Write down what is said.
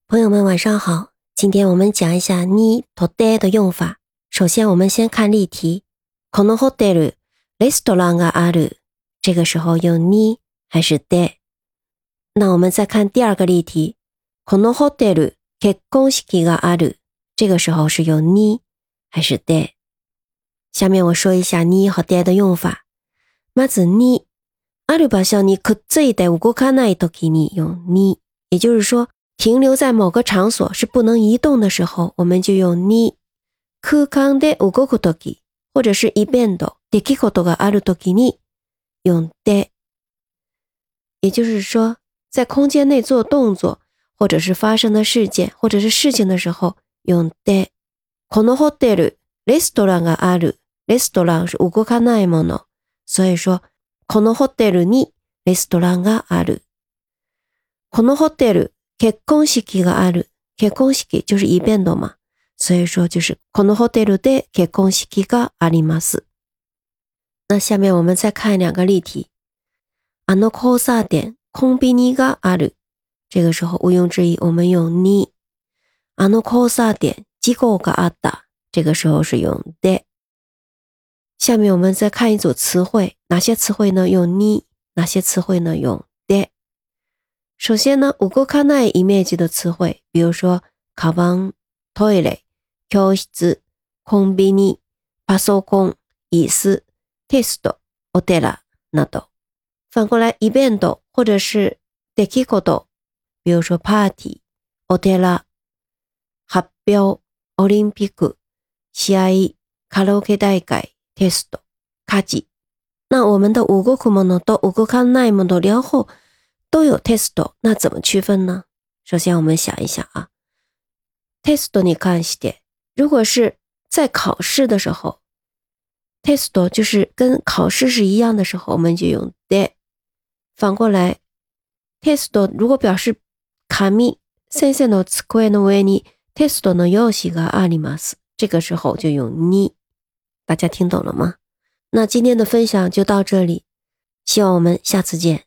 朋友们晚上好，今天我们讲一下にとで的用法。首先我们先看例题。このホテル、レストランがある。这个时候用に还是で？那我们再看第二个例题。このホテル、結婚式がある。这个时候是用に还是で？下面我说一下に和で的用法。まずに、ある場所にくっついて動かないときに用に。也就是说停留在某个场所是不能移动的时候，我们就用に。空間で動くとき、或者是イベント、出来事があるときに用で。也就是说，在空间内做动作，或者是发生的事件，或者是事情的时候用で。このホテル、レストランがある。レストラン是動かないもの。所以说、このホテルにレストランがある。このホテル、結婚式がある。結婚式就是イベント嘛。所以说就是このホテルで結婚式があります。那下面我们再看两个例题。あの交差点、コンビニがある。这个时候毋庸置疑我们用に。あの交差点、事故があった。这个时候是用で。下面我们再看一组词汇，哪些词汇呢用に，哪些词汇呢用で。首先呢動かないイメージ的词汇，比如说カバン、トイレ、教室、コンビニ、パソコン、椅子、テスト、お寺など。反过来イベント或者是出来事，比如说パーティー、お寺、発表、オリンピック、試合、カラオケ大会、テスト、家事。那我们的動くものと動かないもの両方都有テスト，那怎么区分呢？首先我们想一想啊，テストに関して，如果是在考試的时候，テスト就是跟考試是一样的时候，我们就用で。反过来、テスト如果表示紙、先生の机の上にテストの用紙があります。这个时候就用に。大家听懂了吗？那今天的分享就到这里，希望我们下次见。